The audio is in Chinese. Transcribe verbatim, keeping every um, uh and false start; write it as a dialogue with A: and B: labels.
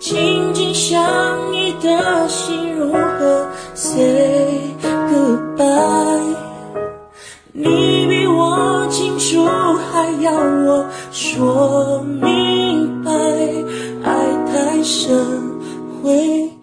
A: 紧紧相依的心如何 say goodbye？ 你比我清楚，还要我说明白，爱太深会